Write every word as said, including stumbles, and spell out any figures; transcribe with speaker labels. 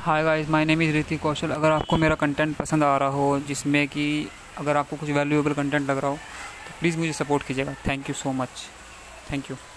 Speaker 1: Hi guys, my name is Hrithik कौशल। अगर आपको मेरा कंटेंट पसंद आ रहा हो, जिसमें कि अगर आपको कुछ वैल्यूएबल कंटेंट लग रहा हो, तो प्लीज़ मुझे सपोर्ट कीजिएगा। Thank you so much. Thank you.